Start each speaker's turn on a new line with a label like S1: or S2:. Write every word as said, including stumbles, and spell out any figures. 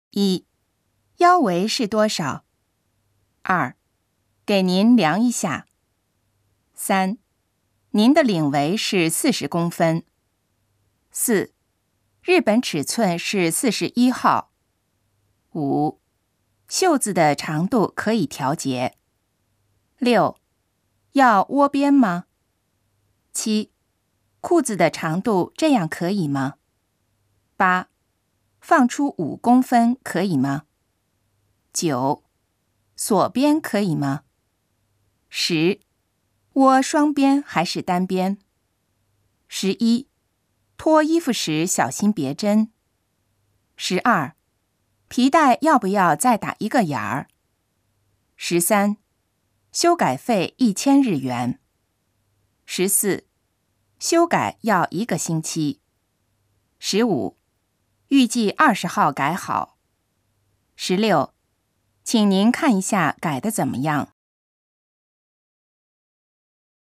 S1: 一、腰围是多少？二、给您量一下。三、您的领围是四十公分。四、日本尺寸是四十一号。五、袖子的长度可以调节。六、要窝边吗？七、裤子的长度这样可以吗？八、放出五公分可以吗？九、锁边可以吗？十、窝双边还是单边？十一、脱衣服时小心别针。十二、皮带要不要再打一个眼儿？十三、修改费一千日元。十四、修改要一个星期。十五、预计二十号改好。十六、请您看一下改得怎么样。